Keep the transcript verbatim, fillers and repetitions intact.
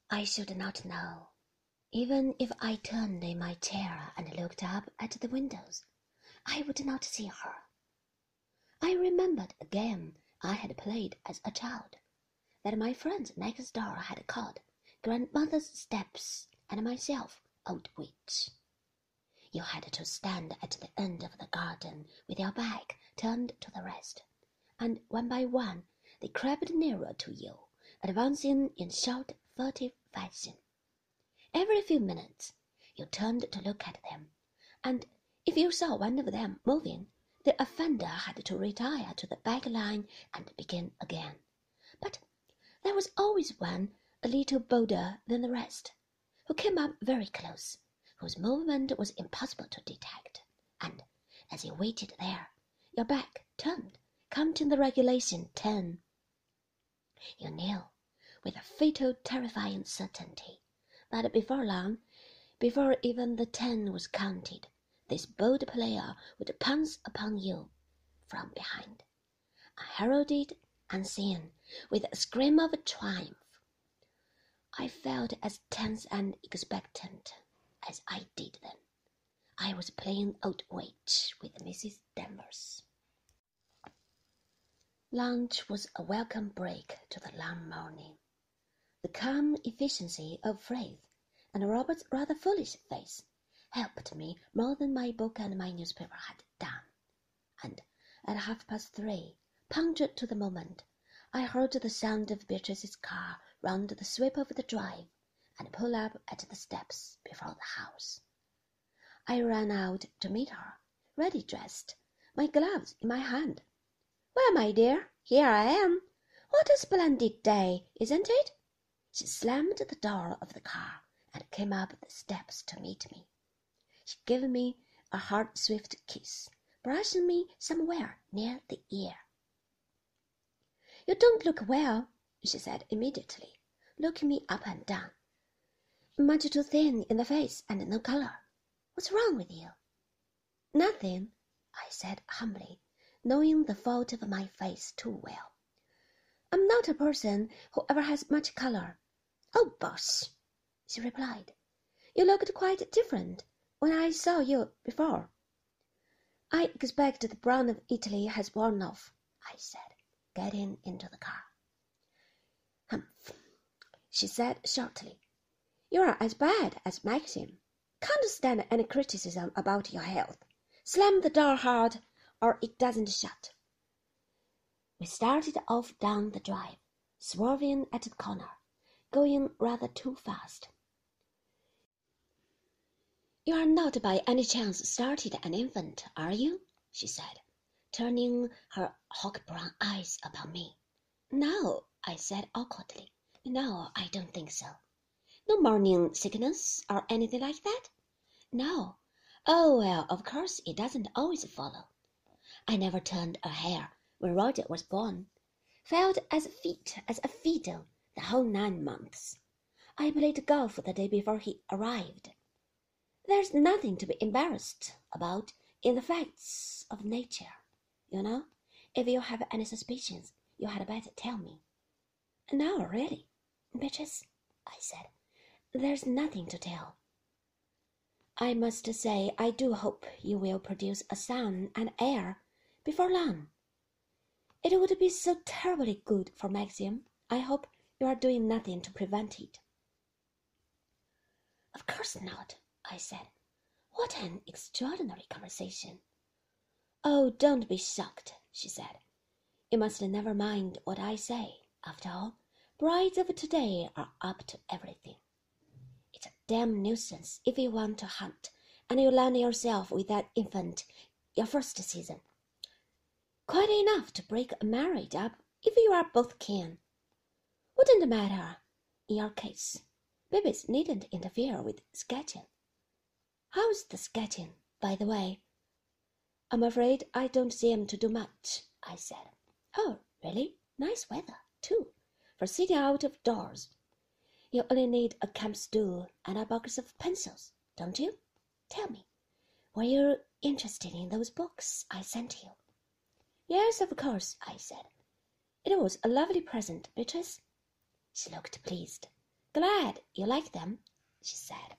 I should not know. Even if I turned in my chair and looked up at the windows, I would not see her. I remembered a game I had played as a child, that my friend next door had called Grandmother's Steps and myself Old Witch. You had to stand at the end of the garden with your back turned to the rest, and one by one they crept nearer to you, advancing in short, furtive fashion. Every few minutes you turned to look at them, and if you saw one of them moving, the offender had to retire to the back line and begin again. But there was always one a little bolder than the rest, who came up very close, whose movement was impossible to detect, and as you waited there, your back turned, counting the regulation ten. You knew, with a fatal, terrifying certainty, that before long, before even the ten was counted, this bold player would pounce upon you from behind, heralded, unseen, with a scream of triumph. I felt as tense and expectant as I did then. I was playing Old Witch with Missus Danvers. Lunch was a welcome break to the long morning. The calm efficiency of Frith and Robert's rather foolish face helped me more than my book and my newspaper had done, and at half past three, punctured to the moment, I heard the sound of Beatrice's car round the sweep of the drive and pull up at the steps before the house. I ran out to meet her, ready dressed, my gloves in my hand. "Well, my dear, here I am. What a splendid day, isn't it?" She slammed the door of the car and came up the steps to meet me. She gave me a hard, swift kiss, brushing me somewhere near the ear. "You don't look well," she said immediately, looking me up and down. "Much too thin in the face and no color. What's wrong with you?" "Nothing," I said humbly, knowing the fault of my face too well. "I'm not a person who ever has much color." "Oh, bosh!" she replied. "You looked quite different when I saw you before." "I expect the brown of Italy has worn off," I said, getting into the car. "Humph," she said shortly. "You're as bad as Maxim. Can't stand any criticism about your health. Slam the door hard, or it doesn't shut." We started off down the drive, swerving at the corner, going rather too fast. "You are not by any chance started an infant, are you?" she said, turning her hawk-brown eyes upon me. "No," I said awkwardly. "No, I don't think so." "No morning sickness or anything like that?" "No. Oh, well, of course it doesn't always follow. I never turned a hair when Roger was born. Felt as fit as a fiddle the whole nine months. I played golf the day before he arrived. There's nothing to be embarrassed about in the facts of nature. You know, if you have any suspicions, you had better tell me." "No, really, Beatrice," I said, "there's nothing to tell. I must say I do hope you will produce a son and heir before long. It would be so terribly good for Maxim. I hope you are doing nothing to prevent it." "Of course not," I said. "What an extraordinary conversation." "Oh, don't be shocked," she said. "You must never mind what I say. After all, brides of today are up to everything. It's a damn nuisance if you want to hunt and you land yourself with that infant your first season. Quite enough to break a marriage up if you are both keen. Wouldn't matter in your case. Babies needn't interfere with sketching. How's the sketching, by the way?" "I'm afraid I don't seem to do much," I said. "Oh, really? Nice weather, too, for sitting out of doors. You only need a camp stool and a box of pencils, don't you? Tell me, were you interested in those books I sent you?" "Yes, of course," I said. "It was a lovely present, Beatrice." She looked pleased. glad you like them, she said.